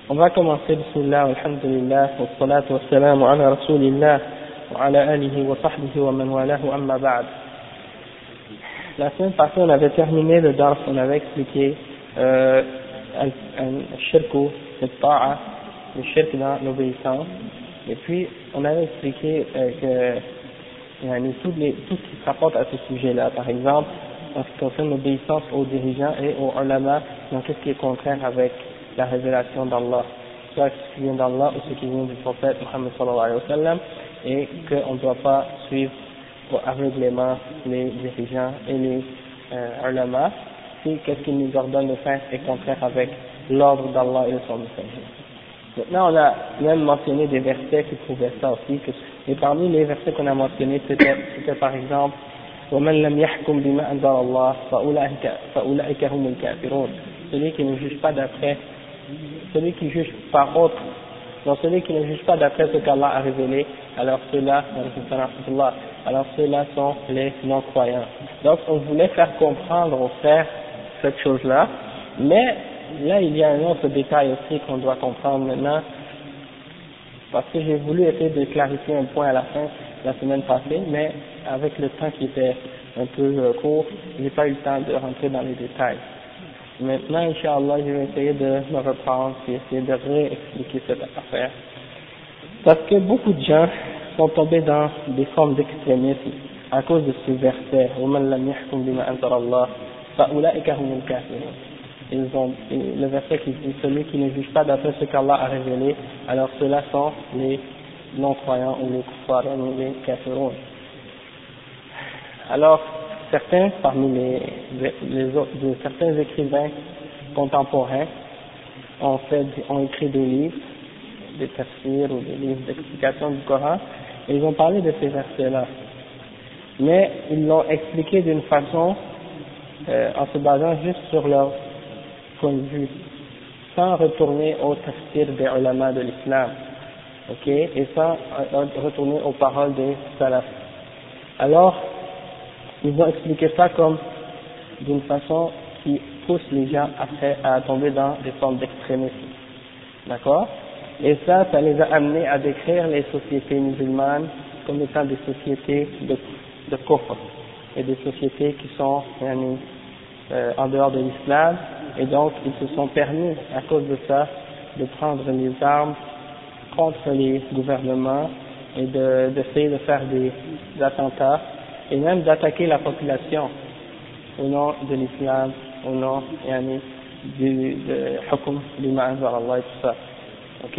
On va commencer, bismillah, alhamdulillah, wa salatu wa salam ala rasulillah, wa ala alihi wa sahbihi wa man walahu amma ba'd. La semaine passée, on avait terminé le dars, on avait expliqué al-shirku, al-ta'a, le shirk dans l'obéissance, et puis on avait expliqué que tout ce qui se rapporte à ce sujet-là, par exemple, en ce qui concerne l'obéissance aux dirigeants et aux ulama, dans tout ce qui est contraire avec la révélation d'Allah, soit ce qui vient d'Allah ou ce qui vient du prophète Muhammad sallallahu alayhi wa sallam, et qu'on ne doit pas suivre aveuglément les dirigeants et les ulama, si qu'est-ce qu'ils nous ordonnent de faire est contraire avec l'ordre d'Allah et de son messager. Maintenant, on a même mentionné des versets qui prouvaient ça aussi, et parmi les versets qu'on a mentionnés, c'était par exemple وَمَنْ لَمْ يَحْكُمْ بِمَا أَنزَلَ اللَّهُ فَأُولَئِكَ هُمُ الْكَافِرُونَ. Celui qui ne juge pas d'après, celui qui juge par autre, donc celui qui ne juge pas d'après ce qu'Allah a révélé, alors ceux-là sont les non-croyants. Donc on voulait faire comprendre aux frères cette chose-là, mais là il y a un autre détail aussi qu'on doit comprendre maintenant, parce que j'ai voulu essayer de clarifier un point à la fin la semaine passée, mais avec le temps qui était un peu court, j'ai pas eu le temps de rentrer dans les détails. Maintenant, Inch'Allah, je vais essayer de me reprendre et essayer de réexpliquer cette affaire. Parce que beaucoup de gens sont tombés dans des formes d'extrémisme à cause de ce verset. وَمَنْ لَمْ يَحْكُمْ بِمَا أَنزَلَ اللَّهُ فَأُولَئِكَ هُمُ الْكَافِرُونَ. Le verset qui dit celui qui ne juge pas d'après ce qu'Allah a révélé, alors ceux-là sont les non-croyants ou les kuffar, ou les kafirun. Alors, certains parmi certains écrivains contemporains ont écrit des livres, des tafsirs ou des livres d'explication du Coran, et ils ont parlé de ces versets-là. Mais ils l'ont expliqué d'une façon en se basant juste sur leur point de vue, sans retourner au tafsir des ulama de l'islam, ok, et sans retourner aux paroles des salaf. Alors, ils ont expliqué ça comme d'une façon qui pousse les gens après à tomber dans des formes d'extrémisme, d'accord? Et ça les a amenés à décrire les sociétés musulmanes comme étant des sociétés de kufr, et des sociétés qui sont en dehors de l'islam, et donc ils se sont permis à cause de ça de prendre les armes contre les gouvernements et d'essayer de faire des attentats et même d'attaquer la population au nom de l'islam, au nom du hukm bima anzala Allah et tout ça. Ok?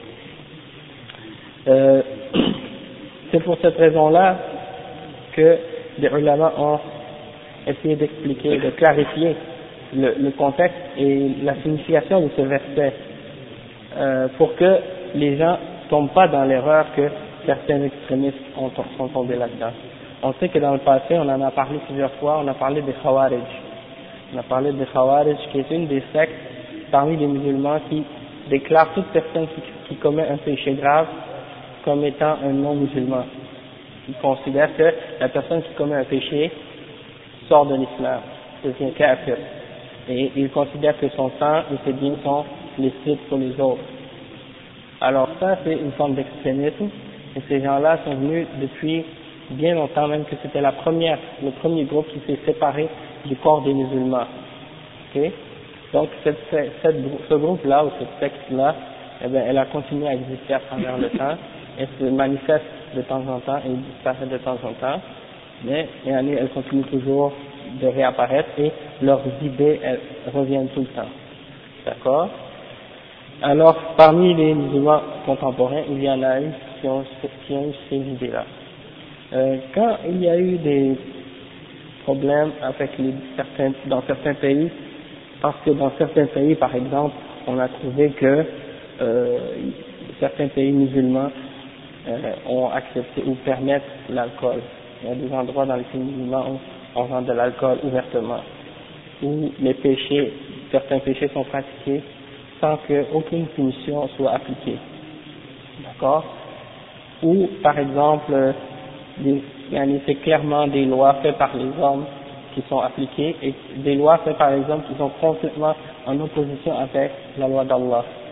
C'est pour cette raison-là que les ulama ont essayé d'expliquer, de clarifier le contexte et la signification de ce verset, pour que les gens ne tombent pas dans l'erreur que certains extrémistes sont tombés là-dedans. On sait que dans le passé, on en a parlé plusieurs fois, on a parlé des Khawarij. On a parlé des Khawarij qui est une des sectes parmi les musulmans qui déclare toute personne qui commet un péché grave comme étant un non-musulman. Ils considèrent que la personne qui commet un péché sort de l'islam, devient kafir. Et ils considèrent que son sang et ses biens sont licites pour les autres. Alors ça, c'est une forme d'extrémisme, et ces gens-là sont venus depuis bien longtemps, même que c'était le premier groupe qui s'est séparé du corps des musulmans. Okay? Donc ce groupe-là, ou cette secte-là, eh bien, elle a continué à exister à travers le temps, elle se manifeste de temps en temps et disparaît de temps en temps, mais elle continue toujours de réapparaître et leurs idées elles reviennent tout le temps. D'accord? Alors, parmi les musulmans contemporains, il y en a eu qui ont eu ces idées-là. Quand il y a eu des problèmes avec dans certains pays, parce que dans certains pays, par exemple, on a trouvé que certains pays musulmans ont accepté ou permettent l'alcool. Il y a des endroits dans les pays musulmans où on vend de l'alcool ouvertement, où certains péchés sont pratiqués sans qu'aucune punition soit appliquée. D'accord? Ou, par exemple, c'est clairement des lois faites par les hommes qui sont appliquées, et des lois faites par les hommes qui sont complètement en opposition avec la loi d'Allah.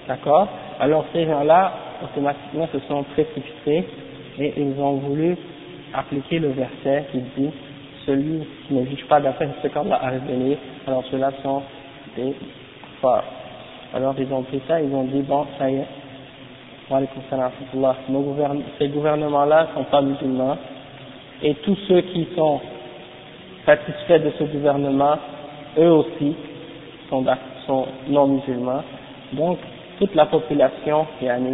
D'accord? Alors ces gens-là, automatiquement, se sont précipités et ils ont voulu appliquer le verset qui dit celui qui ne juge pas d'après ce qu'Allah a révélé, alors ceux-là sont des forts. Alors ils ont pris ça, ils ont dit bon, ça y est, ces gouvernements-là sont pas musulmans et tous ceux qui sont satisfaits de ce gouvernement, eux aussi sont non musulmans. Donc toute la population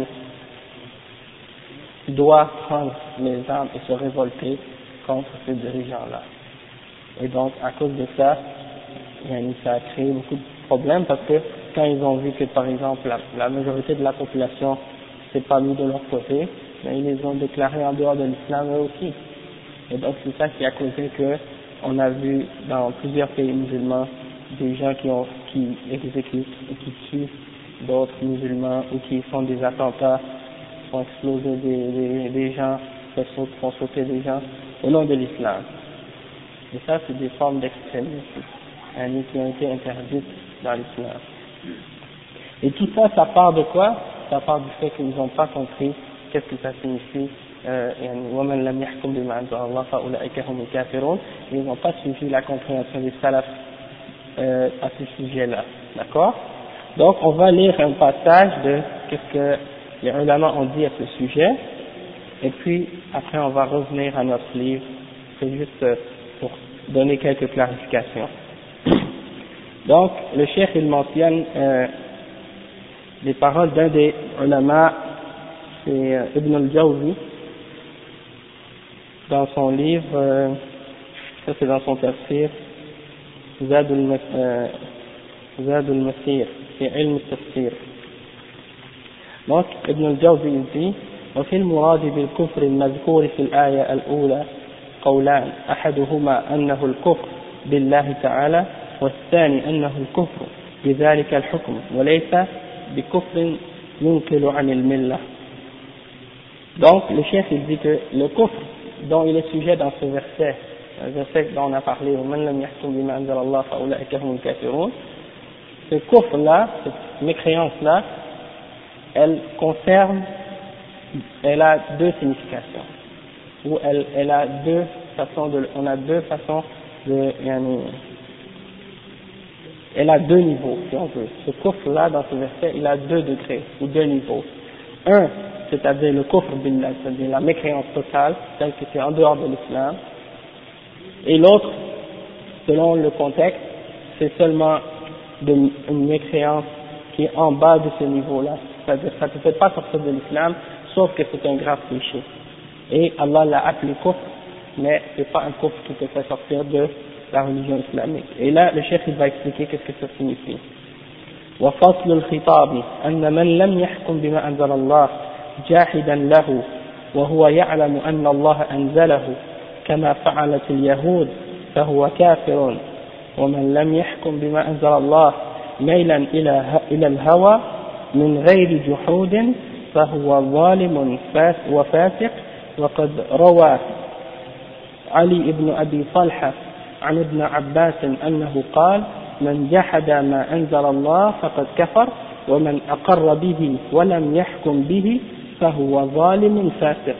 doit prendre les armes et se révolter contre ces dirigeants-là. Et donc à cause de ça, ça a créé beaucoup de problèmes parce que quand ils ont vu que par exemple la majorité de la population s'est pas mis de leur côté, mais ils les ont déclarés en dehors de l'islam eux aussi. Et donc c'est ça qui a causé que on a vu dans plusieurs pays musulmans des gens qui exécutent et qui tuent d'autres musulmans ou qui font des attentats, font exploser des gens, font sauter des gens au nom de l'islam. Et ça c'est des formes d'extrémisme qui ont été interdites dans l'islam. Et tout ça, ça part de quoi? Ça part du fait qu'ils n'ont pas compris qu'est-ce que ça signifie وَمَنْ لَمْ يَحْكُمْ بِمَا أَنزَلَ اللَّهُ فَأُولَئِكَ هُمُ الْكَافِرُونَ. Ils n'ont pas suivi la compréhension des salafs à ce sujet-là. D'accord? Donc on va lire un passage de qu'est-ce que les ulama ont dit à ce sujet, et puis après on va revenir à notre livre. C'est juste pour donner quelques clarifications. Donc le cheikh il mentionne les paroles d'un des ulama, c'est Ibn al-Jawzi, dans son livre, ça c'est dans son tafsir, Zad al-Masir, c'est ilm al-tafsir. Donc Ibn al-Jawzi il dit وفي المراد بالكفر المذكور في الآية الأولى قولان أحدهما أنه الكفر بالله تعالى والثاني أنه الكفر بذلك الحكم وليس بكفر ينكل عن الملة. Donc le chef il dit que le kufr dont il est sujet dans ce verset, le verset dont on a parlé, وَمَنْ لَمْ يَحْكُمْ بِمَا أَنزَلَ اللَّهُ فَأُولَئِكَ هُمُ الْكَافِرُونَ, ce kufr là, cette mécréance là, elle a deux significations, ou elle a deux façons on a deux façons elle a deux niveaux, si on veut. Ce kufr-là, dans ce verset, il a deux degrés, ou deux niveaux. Un, c'est-à-dire le kufr billah, c'est-à-dire la mécréance totale, celle qui est en dehors de l'islam. Et l'autre, selon le contexte, c'est seulement une mécréance qui est en bas de ce niveau-là. C'est-à-dire ça ne te fait pas sortir de l'islam, sauf que c'est un grave péché. Et Allah l'a appelé kufr, mais c'est pas un kufr qui te fait sortir de la religion islamique. Et là, le cheikh il va expliquer qu'est-ce que ça signifie. وفصل الخطاب أن من لم يحكم بما أنزل الله جاحدا له وهو يعلم أن الله أنزله كما فعلت اليهود فهو كافر ومن لم يحكم بما أنزل الله ميلا إلى الهوى من غير جحود فهو ظالم وفاسق. وقد روى علي بن أبي طلحة عن ابن عباس أنه قال من جحد ما أنزل الله فقد كفر ومن أقر به ولم يحكم به فهو ظالم فاسق.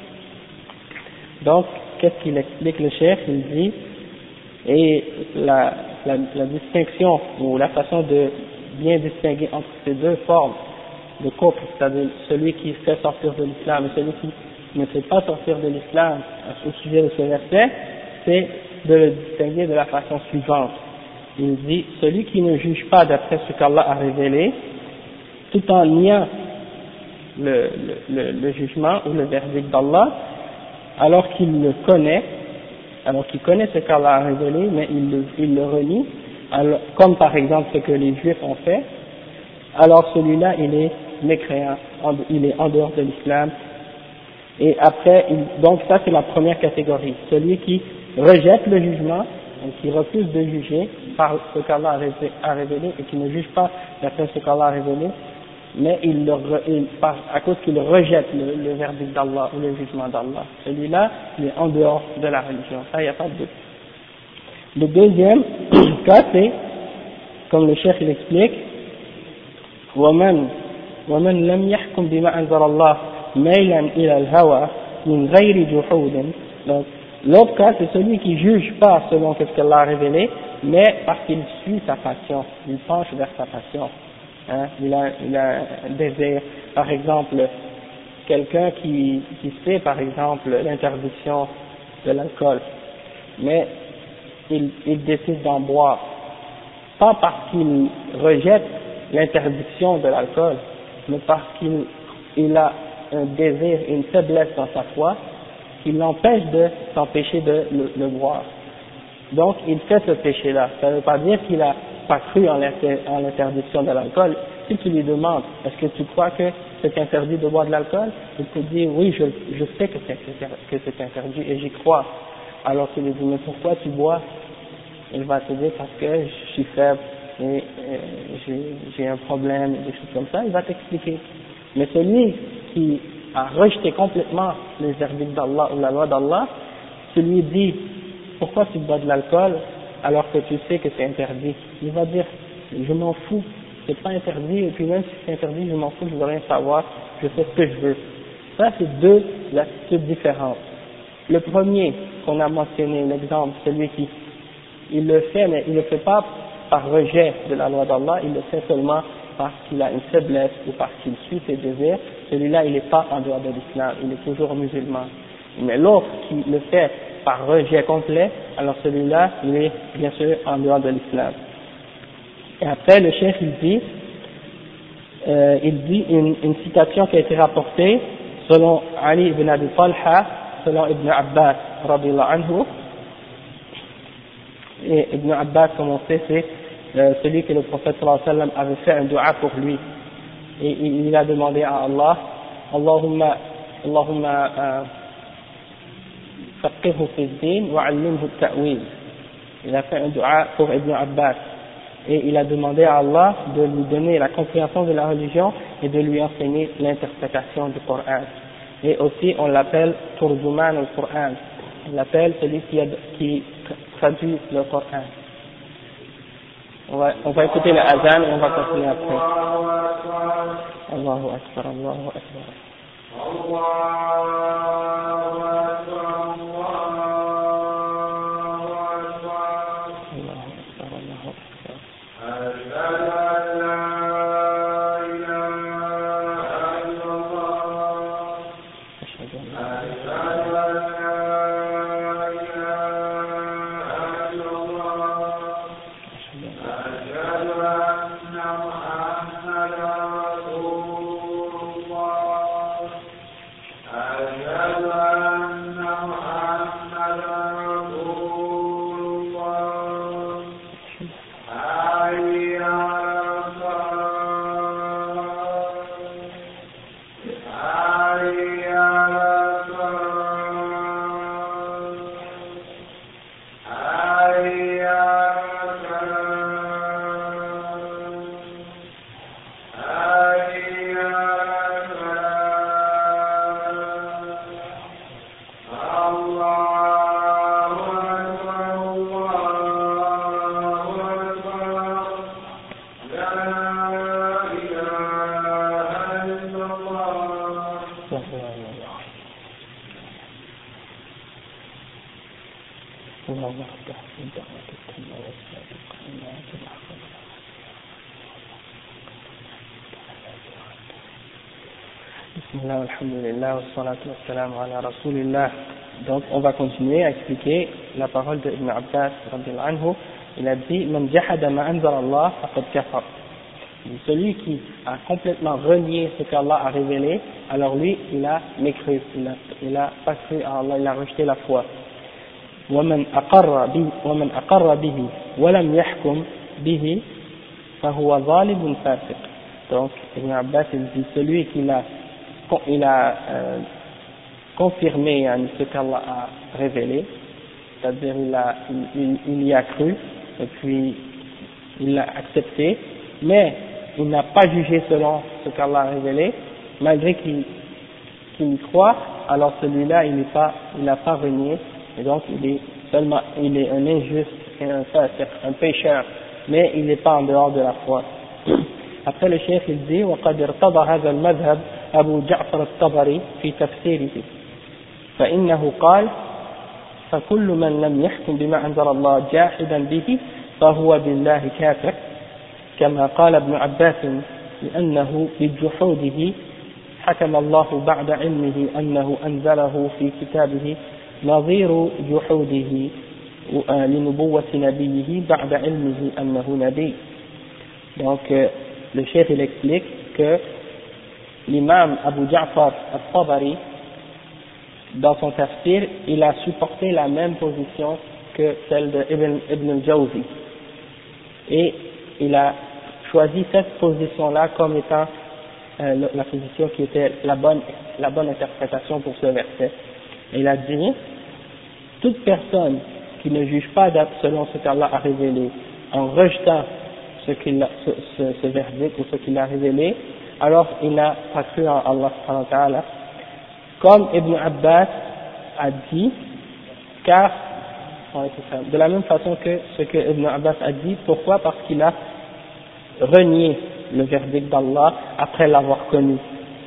Donc, qu'est-ce qu'il explique le chef? Il dit, et la distinction ou la façon de bien distinguer entre ces deux formes de kufr, c'est-à-dire celui qui fait sortir de l'islam et celui qui ne fait pas sortir de l'islam au sujet de ce verset, c'est de le distinguer de la façon suivante. Il dit, celui qui ne juge pas d'après ce qu'Allah a révélé, tout en niant le jugement ou le verdict d'Allah, alors qu'il le connaît, alors qu'il connaît ce qu'Allah a révélé, mais il le renie, alors, comme par exemple ce que les Juifs ont fait, alors celui-là il est mécréant, il est en dehors de l'islam. Et après, donc ça c'est la première catégorie, celui qui rejette le jugement, qui refuse de juger par ce qu'Allah a révélé et qui ne juge pas d'après ce qu'Allah a révélé, mais à cause qu'il rejette le verdict d'Allah ou le jugement d'Allah. Celui-là, il est en dehors de la religion, ça il n'y a pas de doute. Le deuxième cas c'est, comme le cheikh il explique, وَمَنْ ومن لم يحكم بما أنزل الله ميلا إلى الهوى من غير جحود. Donc l'autre cas c'est celui qui juge pas selon ce qu'Allah a révélé, mais parce qu'il suit sa passion, il penche vers sa passion, hein, il a un désir. Par exemple, quelqu'un qui sait par exemple l'interdiction de l'alcool, mais il décide d'en boire, pas parce qu'il rejette l'interdiction de l'alcool, mais parce qu'il a un désir, une faiblesse dans sa foi, qui l'empêche de s'empêcher de le boire. Donc il fait ce péché-là. Ça ne veut pas dire qu'il a pas cru en l'interdiction de l'alcool. Si tu lui demandes, est-ce que tu crois que c'est interdit de boire de l'alcool, il te dit oui, je sais que c'est interdit et j'y crois. Alors tu lui dis mais pourquoi tu bois? Il va te dire parce que je suis faible et j'ai un problème, des choses comme ça. Il va t'expliquer. Mais celui qui a rejeté complètement les verdicts d'Allah ou la loi d'Allah, tu lui dis pourquoi tu bois de l'alcool alors que tu sais que c'est interdit. Il va dire je m'en fous, c'est pas interdit, et puis même si c'est interdit, je m'en fous, je veux rien savoir, je fais ce que je veux. Ça c'est deux attitudes différentes. Le premier qu'on a mentionné, l'exemple, celui qui il le fait, mais il ne le fait pas par rejet de la loi d'Allah, il le fait seulement parce qu'il a une faiblesse ou parce qu'il suit ses désirs. Celui-là il n'est pas en dehors de l'islam, il est toujours musulman. Mais l'autre qui le fait par rejet complet, alors celui-là il est bien sûr en dehors de l'islam. Et après le cheikh il dit une citation qui a été rapportée selon Ali ibn Abi Talha, selon Ibn Abbas radiyallahu anhu. Et Ibn Abbas, comme on sait, c'est celui que le prophète sallallahu alayhi wa sallam avait fait un dua pour lui. Et il a demandé à Allah, Allahumma faqihhu fi ad-din wa 'allimhu at-ta'wil. Il a fait un dua pour Ibn Abbas. Et il a demandé à Allah de lui donner la compréhension de la religion et de lui enseigner l'interprétation du Coran. Et aussi on l'appelle Turjuman al-Qur'an. On l'appelle celui qui traduit le Coran. On va écouter le azan et on va continuer après. Allahu Akbar, Allahu Akbar. Allahu Donc on va continuer à expliquer la parole de Ibn Abbas radiyallahu anhu. Il a dit Man jahada ma anzala Allah faqad kafar. Celui qui a complètement renié ce qu'Allah a révélé, alors lui il a mécru, il a pas cru à Allah, il a rejeté la foi. ومن أقر به ولم يحكم به فهو ظالم فاسق. Donc Ibn Abbas il dit celui qui il a confirmé ce qu'Allah a révélé, c'est-à-dire il y a cru et puis il l'a accepté, mais il n'a pas jugé selon ce qu'Allah a révélé, malgré qu'il y croit, alors celui-là il n'a pas renié, et donc il est un injuste et un pécheur, mais il n'est pas en dehors de la foi. Après le cheikh il dit وقد ارتضى هذا المذهب أبو جعفر الطبري في تفسيره فإنه قال فكل من لم يحكم بما أنزل الله جاحدا به فهو بالله كافر كما قال ابن عباس لأنه بجحوده حكم الله بعد علمه أنه أنزله في كتابه نظير جحوده لنبوة نبيه بعد علمه أنه نبي. Donc le cheikh il explique que l'imam Abu Ja'far al-Tabari dans son tafsir il a supporté la même position que celle de Ibn al-Jawzi et il a choisi cette position là comme étant la position qui était la bonne interprétation pour ce verset. Et il a dit toute personne qui ne juge pas selon ce qu'Allah a révélé en rejetant ce verdict ou ce qu'il a révélé, alors il n'a pas cru en Allah subhanahu wa ta'ala, comme Ibn Abbas a dit, car de la même façon que ce que Ibn Abbas a dit. Pourquoi? Parce qu'il a renié le verdict d'Allah après l'avoir connu,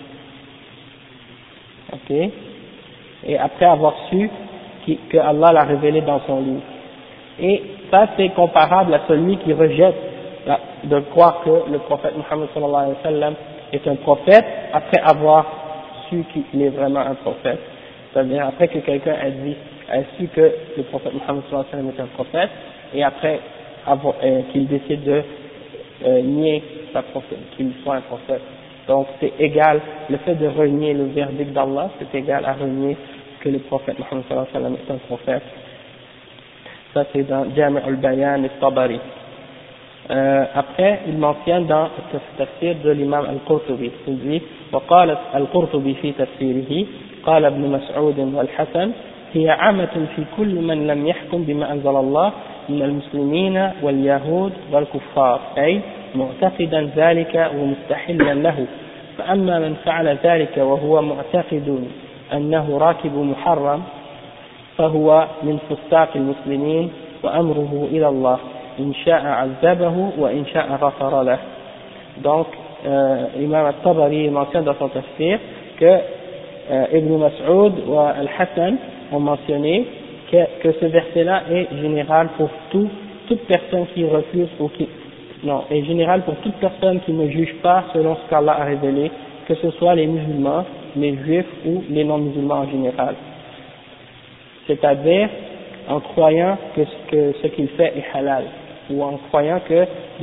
ok, et après avoir su que Allah l'a révélé dans son livre. Et ça c'est comparable à celui qui rejette de croire que le prophète Muhammad sallallahu alayhi wa sallam est un prophète après avoir su qu'il est vraiment un prophète. C'est-à-dire après que quelqu'un a su que le prophète Muhammad sallallahu alayhi wa sallam est un prophète et après qu'il décide de nier sa prophète, qu'il soit un prophète. Donc c'est égal, le fait de renier le verdict d'Allah, c'est égal à renier que le prophète Muhammad sallallahu alayhi wa sallam est un prophète. Ça c'est dans Jami' al-Bayan al-Tabari. Après il mentionne dans le tafsir de l'imam al-Qurtubi, il dit وقال القرطبي في تفسيره قال ابن مسعود والحسن هي عامة في كل من لم يحكم بما أنزل الله من المسلمين واليهود والكفار أي معتقدا ذلك ومستحلا له فأما من فعل ذلك وهو معتقد أنه راكب محرم فهو من فساق المسلمين وأمره إلى الله إن شاء عذبه وإن شاء غفر له. Donc Imam al-Tabari mentionne dans son tafsir que Ibn Mas'ud et Al-Hassan ont mentionné que ce verset-là est général pour toute personne qui refuse est général pour toute personne qui ne juge pas selon ce qu'Allah a révélé, que ce soit les musulmans, les juifs ou les non-musulmans en général. C'est-à-dire en croyant que ce qu'il fait est halal, ou en croyant que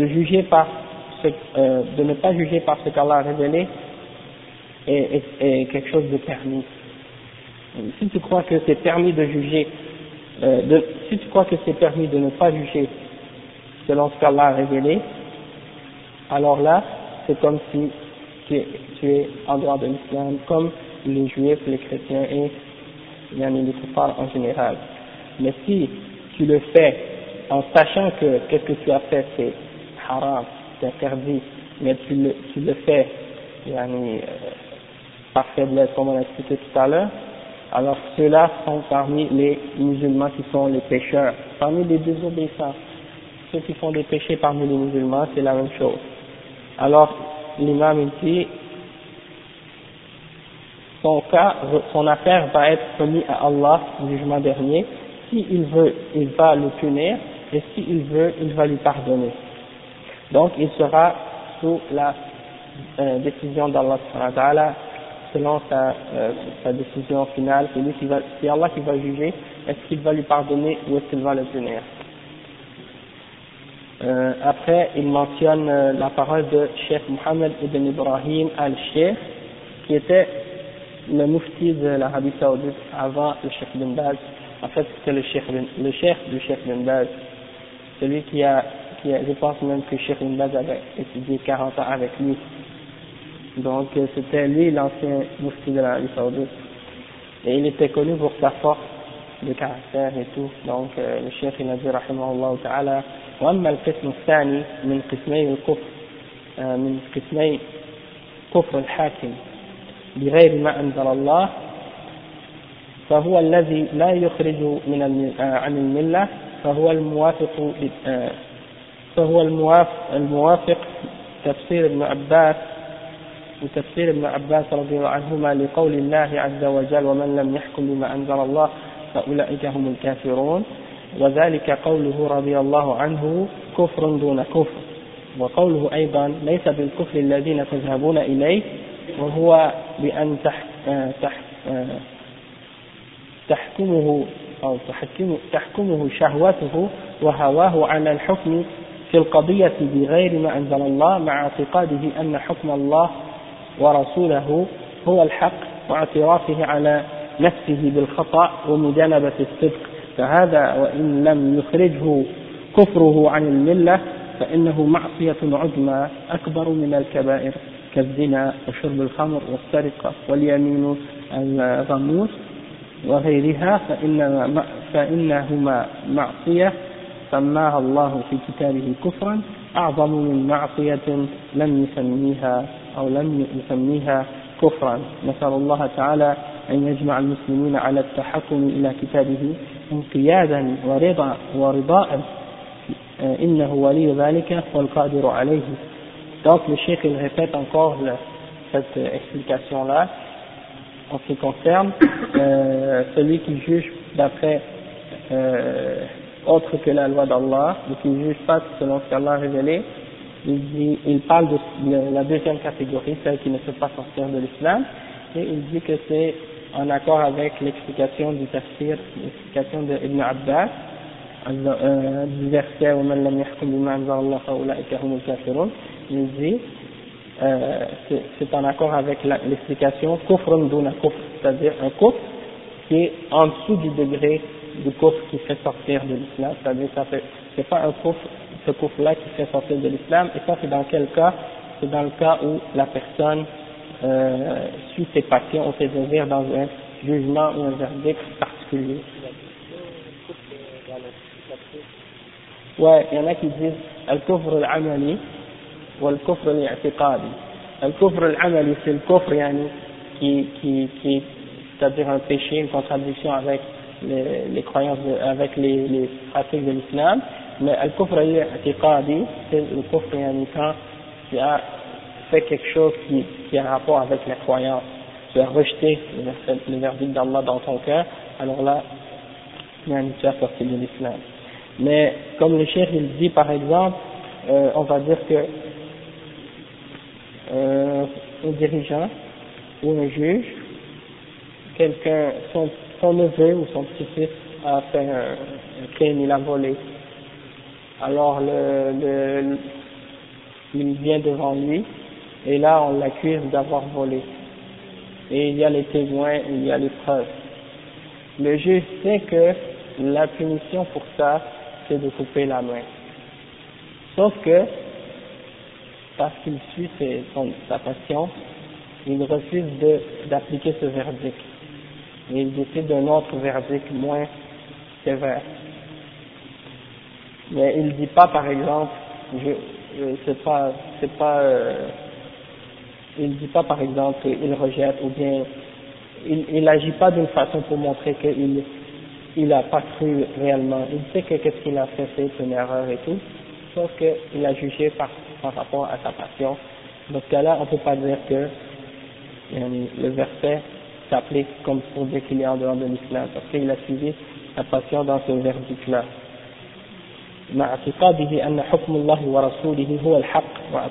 de ne pas juger par ce qu'Allah a révélé est quelque chose de permis. Si tu crois que c'est permis de juger, si tu crois que c'est permis de ne pas juger selon ce qu'Allah a révélé, alors là, c'est comme si tu es en dehors de l'islam, comme les juifs, les chrétiens et les kuffars en général. Mais si tu le fais en sachant que qu'est-ce que tu as fait c'est haram, c'est interdit, mais tu le fais par faiblesse, comme on a expliqué tout à l'heure, alors ceux-là sont parmi les musulmans qui sont les pécheurs, parmi les désobéissants. Ceux qui font des péchés parmi les musulmans, c'est la même chose. Alors, l'imam dit, son affaire va être remise à Allah au jugement dernier. S'il veut, il va le punir, et s'il veut, il va lui pardonner. Donc, il sera sous la décision d'Allah subhanahu wa ta'ala, selon sa décision finale. C'est Allah qui va juger, est-ce qu'il va lui pardonner ou est-ce qu'il va le punir. Après, il mentionne la parole de Cheikh Mohammed ibn Ibrahim al-Sheikh, qui était le mufti de l'Arabie Saoudite avant le Cheikh bin Baz. En fait, c'était le cheikh du Cheikh bin Baz, celui qui a, je pense même que Cheikh bin Baz avait étudié 40 ans avec lui. Donc, c'était lui l'ancien mufti de l'Arabie Saoudite. Et il était connu pour sa force de caractère et tout. Donc, le cheikh il a dit, rahimahullah ta'ala, وأما القسم الثاني من قسمي الكفر من قسمي كفر الحاكم بغير ما أنزل الله فهو الذي لا يخرج عن الملة فهو الموافق تفسير ابن عباس وتفسير ابن عباس رضي الله عنهما لقول الله عز وجل ومن لم يحكم بما أنزل الله فأولئك هم الكافرون، وذلك قوله رضي الله عنه كفر دون كفر، وقوله أيضا ليس بالكفر الذين تذهبون إليه وهو بأن تحكمه شهوته وهواه على الحكم في القضية بغير ما أنزل الله مع اعتقاده أن حكم الله ورسوله هو الحق واعترافه على نفسه بالخطأ ومجانبة الصدق، فهذا وإن لم يخرجه كفره عن الملة فإنه معصية عظمى أكبر من الكبائر كالزنا وشرب الخمر والسرقة واليمين الغموس وغيرها، فإنهما معصية سماها الله في كتابه كفرا أعظم من معصية لم يسميها كفرا. نسأل الله تعالى أن يجمع المسلمين على التحكم إلى كتابه انقيادا ورضاء إنه ولي ذلك والقادر عليه. Donc le cheikh il répète encore cette explication-là en ce qui concerne celui qui juge d'après autre que la loi d'Allah, ou qui ne juge pas selon ce qu'Allah a révélé. Il parle de la deuxième catégorie, celle qui ne peut pas sortir de l'islam, et il dit que c'est en accord avec l'explication du tafsir, l'explication de Ibn Abbas, du verset وَمَنْ لَمْ يَحْكُمْ بِمَا أَنزَلَ اللَّهُ فَأُولَئِكَ هُمُ الْكَافِرُونَ. Il dit c'est en accord avec l'explication kufrun duna kufr, c'est-à-dire un kufr qui est en dessous du degré du kufr qui fait sortir de l'islam, c'est-à-dire c'est pas un kufr, ce kufr-là qui fait sortir de l'islam, et ça c'est dans quel cas? C'est dans le cas où la personne suit ses passions ou ses désirs dans un jugement ou un verdict particulier. Ouais, il y en a qui disent al-kufr al-amali ou al-kufr al-i'tiqadi. Al-kufr al-amali, c'est le kufr qui c'est-à-dire un péché, une contradiction avec les croyances, avec les pratiques de l'islam. Mais al-kufr al-i'tiqadi, c'est le kufr quand tu as fait quelque chose qui a rapport avec la croyance. Tu as rejeté le verdict d'Allah dans ton cœur, alors là, tu as sorti de l'islam. Mais comme le cheikh il dit par exemple, on va dire que un dirigeant ou un juge, quelqu'un, son neveu ou son petit-fils a fait un crime, il a volé. Alors il vient devant lui et là on l'accuse d'avoir volé. Et il y a les témoins, il y a les preuves. Le juge sait que la punition pour ça, c'est de couper la main. Sauf que, parce qu'il suit sa passion, il refuse d'appliquer ce verdict. Et il décide d'un autre verdict moins sévère. Mais il ne dit pas, par exemple, il dit pas, par exemple, qu'il rejette, ou bien, il n'agit pas d'une façon pour montrer il n'a pas cru réellement. Il sait que qu'est-ce qu'il a fait, c'est une erreur et tout, sauf qu'il a jugé par rapport à sa passion. Dans ce cas-là, on ne peut pas dire que le verset s'applique comme pour dire qu'il est en dehors de l'islam, parce qu'il a suivi sa passion dans ce verdict-là. مع اعتقاده أن حكم الله ورسوله هو الحق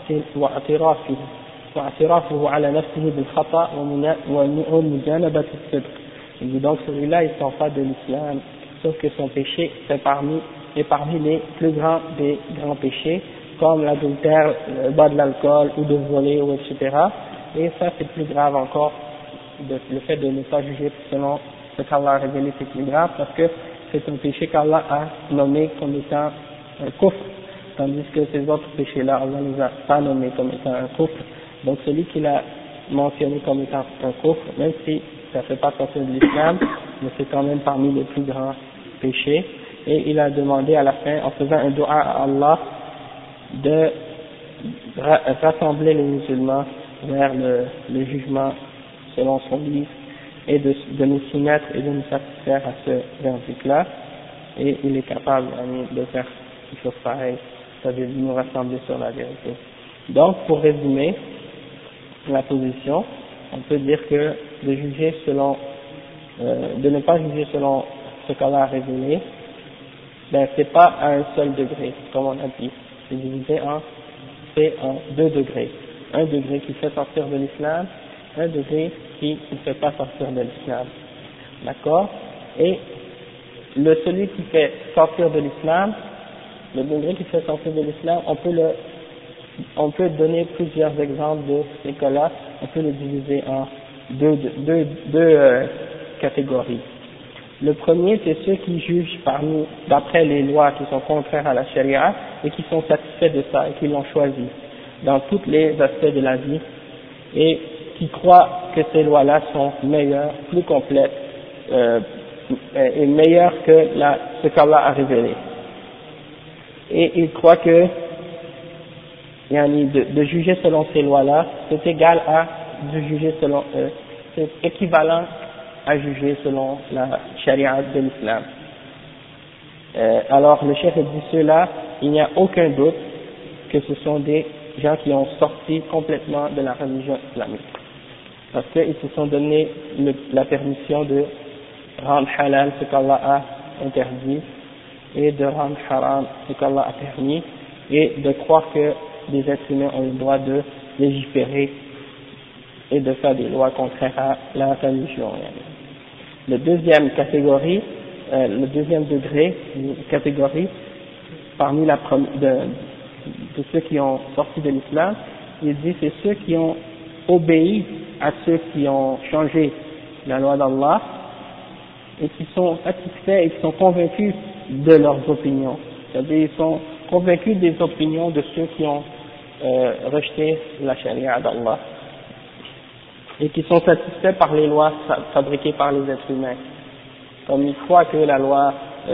واعترافه على نفسه بالخطأ ومجانبة الصدق. Il dit donc celui-là il ne sort pas de l'islam, sauf que son péché est parmi les plus grands des grands péchés, comme l'adultère, le bas de l'alcool ou de voler, ou etc. Et ça c'est plus grave encore, le fait de ne pas juger selon ce qu'Allah a révélé, c'est plus grave parce que c'est un péché qu'Allah a nommé comme étant un kufr, tandis que ces autres péchés-là, Allah ne les a pas nommés comme étant un kufr. Donc celui qu'il a mentionné comme étant un kufr, même si ça ne fait pas sortir de l'islam, mais c'est quand même parmi les plus grands péchés. Et il a demandé à la fin, en faisant un dua à Allah, de rassembler les musulmans vers le jugement selon son livre, et de nous soumettre et de nous satisfaire à ce verdict-là, et il est capable de faire quelque chose pareil, c'est-à-dire de nous rassembler sur la vérité. Donc, pour résumer la position, on peut dire que de juger selon, de ne pas juger selon ce qu'Allah a révélé, ben c'est pas à un seul degré, comme on a dit. C'est divisé en deux degrés. Un degré qui fait sortir de l'islam, un degré qui ne fait pas sortir de l'islam. D'accord? Et celui qui fait sortir de l'islam, le degré qui fait sortir de l'islam, on peut donner plusieurs exemples de ces cas-là, on peut le diviser en deux catégories. Le premier, c'est ceux qui jugent d'après les lois qui sont contraires à la charia et qui sont satisfaits de ça et qui l'ont choisi dans tous les aspects de la vie et qui croient que ces lois-là sont meilleures, plus complètes et meilleures que ce qu'Allah a révélé. Et ils croient que de juger selon ces lois-là, c'est égal à de juger selon c'est équivalent à juger selon la charia de l'islam. Alors le chef dit ceux-là, il n'y a aucun doute que ce sont des gens qui ont sorti complètement de la religion islamique. Parce qu'ils se sont donné la permission de rendre halal ce qu'Allah a interdit et de rendre haram ce qu'Allah a permis et de croire que les êtres humains ont le droit de légiférer et de faire des lois contraires à la religion. Le deuxième catégorie, le deuxième degré, catégorie, parmi de ceux qui ont sorti de l'islam, il dit c'est ceux qui ont obéi à ceux qui ont changé la loi d'Allah et qui sont satisfaits et qui sont convaincus de leurs opinions. C'est-à-dire ils sont convaincus des opinions de ceux qui ont rejeté la charia d'Allah et qui sont satisfaits par les lois fabriquées par les êtres humains. Comme ils croient que la loi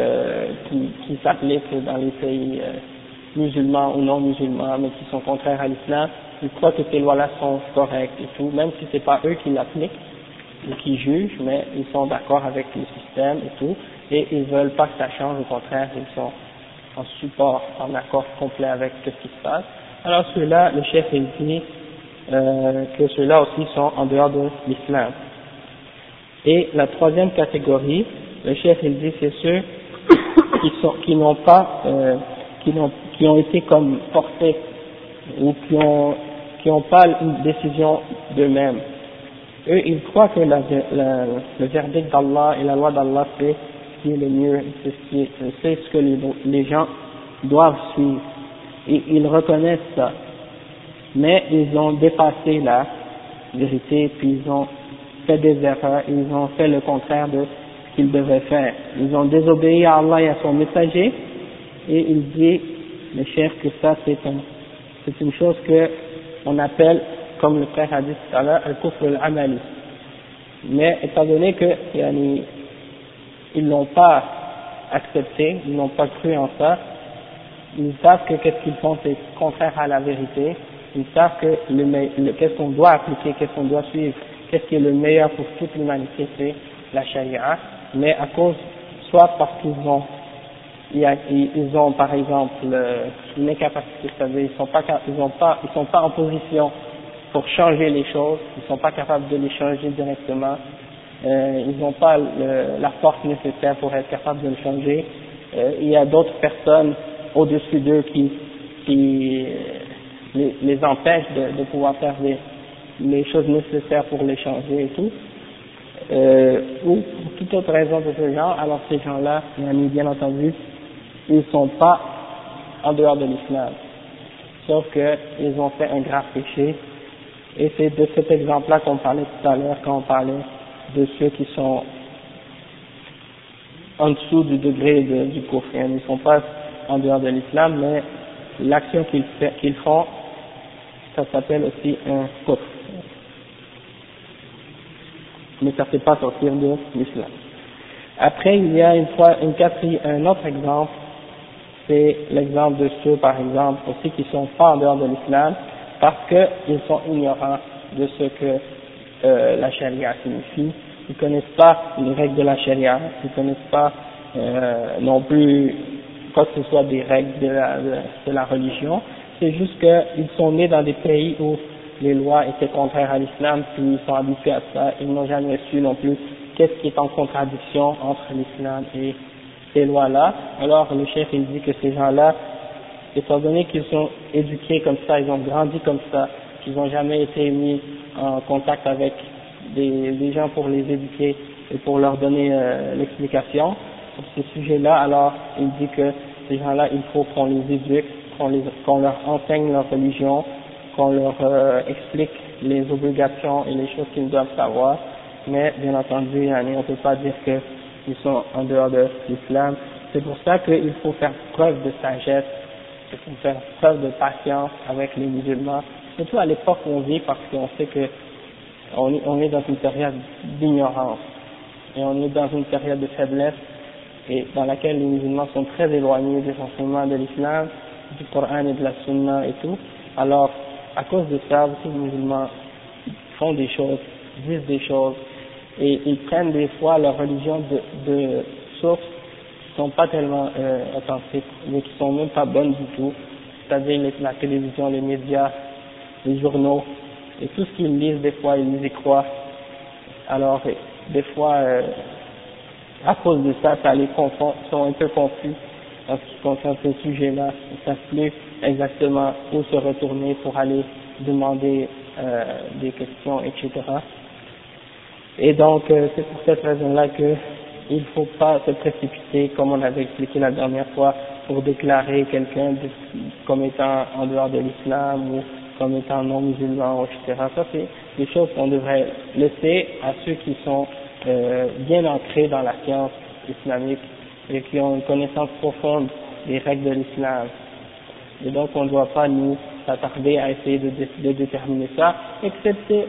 qui s'applique dans les pays musulmans ou non musulmans, mais qui sont contraires à l'islam, ils croient que ces lois-là sont correctes et tout, même si c'est pas eux qui l'appliquent ou qui jugent, mais ils sont d'accord avec le système et tout, et ils veulent pas que ça change, au contraire, ils sont en support, en accord complet avec ce qui se passe. Alors ceux-là, le chef il dit que ceux-là aussi sont en dehors de l'islam. Et la troisième catégorie, le chef il dit c'est ceux qui n'ont pas qui ont été comme forcés ou qui ont pas une décision d'eux-mêmes. Eux ils croient que le verdict d'Allah et la loi d'Allah c'est ce qui est le mieux, c'est ce que les gens doivent suivre et ils reconnaissent ça, mais ils ont dépassé la vérité puis ils ont fait des erreurs, ils ont fait le contraire de ce qu'ils devaient faire. Ils ont désobéi à Allah et à son messager, et il dit, le chef, que ça c'est une chose que on appelle, comme le frère a dit tout à l'heure, al-kufr al-amali. Mais étant donné que ils l'ont pas accepté, ils n'ont pas cru en ça, ils savent que qu'est-ce qu'ils font c'est contraire à la vérité, ils savent que qu'est-ce qu'on doit appliquer, qu'est-ce qu'on doit suivre, qu'est-ce qui est le meilleur pour toute l'humanité, c'est la charia, mais à cause, soit parce qu'ils ont par exemple une incapacité, c'est-à-dire ils sont pas en position pour changer les choses, ils sont pas capables de les changer directement, ils n'ont pas la force nécessaire pour être capables de le changer, il y a d'autres personnes au-dessus d'eux qui les empêchent de pouvoir faire les choses nécessaires pour les changer et tout, ou pour toute autre raison de ce genre. Alors ces gens-là, bien entendu, ils sont pas en dehors de l'islam, sauf qu'ils ont fait un grave péché, et c'est de cet exemple-là qu'on parlait tout à l'heure quand on parlait de ceux qui sont en dessous du degré du kufr. Ils ne sont pas en dehors de l'islam, mais l'action qu'ils font, ça s'appelle aussi un kufr. Mais ça ne fait pas sortir de l'islam. Après, il y a un autre exemple, c'est l'exemple de ceux, par exemple, aussi qui sont pas en dehors de l'islam, parce qu'ils sont ignorants de ce que la charia signifie. Ils connaissent pas les règles de la charia, ils connaissent pas non plus quoi que ce soit des règles de la religion. c'est juste qu'ils sont nés dans des pays où les lois étaient contraires à l'islam, puis ils sont habitués à ça, ils n'ont jamais su non plus qu'est-ce qui est en contradiction entre l'islam et ces lois-là. Alors le chef il dit que ces gens-là, étant donné qu'ils sont éduqués comme ça, ils ont grandi comme ça, qu'ils n'ont jamais été mis en contact avec des gens pour les éduquer et pour leur donner l'explication sur ces sujets-là, alors il dit que ces gens-là, il faut qu'on les éduque, qu'on leur enseigne leur religion, qu'on leur explique les obligations et les choses qu'ils doivent savoir, mais bien entendu, on ne peut pas dire qu'ils sont en dehors de l'islam. C'est pour ça qu'il faut faire preuve de sagesse, il faut faire preuve de patience avec les musulmans, surtout à l'époque où on vit, parce qu'on sait que on est dans une période d'ignorance, et on est dans une période de faiblesse, et dans laquelle les musulmans sont très éloignés des enseignements de l'islam, du Coran et de la Sunna et tout. Alors, à cause de ça, beaucoup de musulmans font des choses, disent des choses, et ils prennent des fois leur religion de sources qui sont pas tellement authentiques, mais qui sont même pas bonnes du tout, c'est-à-dire la télévision, les médias, les journaux, et tout ce qu'ils lisent, des fois, ils y croient. Alors, des fois, à cause de ça, ça les confond, sont un peu confus en ce qui concerne ce sujet-là. Ils ne savent plus exactement où se retourner pour aller demander des questions, etc. Et donc, c'est pour cette raison-là que il ne faut pas se précipiter, comme on avait expliqué la dernière fois, pour déclarer quelqu'un comme étant en dehors de l'islam ou comme étant non musulman, etc. Ça, c'est des choses qu'on devrait laisser à ceux qui sont bien ancrés dans la science islamique et qui ont une connaissance profonde des règles de l'islam. Et donc, on ne doit pas nous s'attarder à essayer de déterminer ça, excepté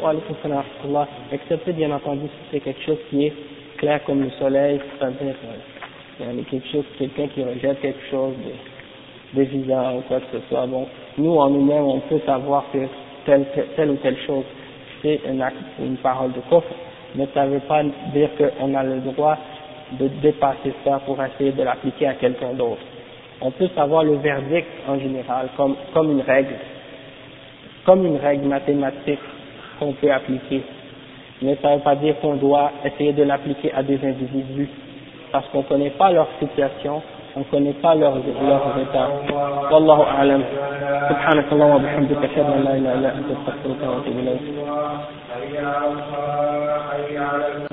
bien entendu si c'est quelque chose qui est clair comme le soleil, c'est-à-dire quelqu'un qui rejette quelque chose d'évident ou quoi que ce soit. Bon, nous en nous-mêmes on peut savoir que telle ou telle chose c'est un acte, une parole de kufr, mais ça ne veut pas dire qu'on a le droit de dépasser ça pour essayer de l'appliquer à quelqu'un d'autre. On peut savoir le verdict en général comme une règle mathématique qu'on peut appliquer, mais ça ne veut pas dire qu'on doit essayer de l'appliquer à des individus, parce qu'on ne connaît pas leur situation, on ne connaît pas leurs états. Wallahu a'lam. Subhanakallah wa bihamdika ashhadu an la ilaha illa anta astaghfiruka wa atubu ilayk.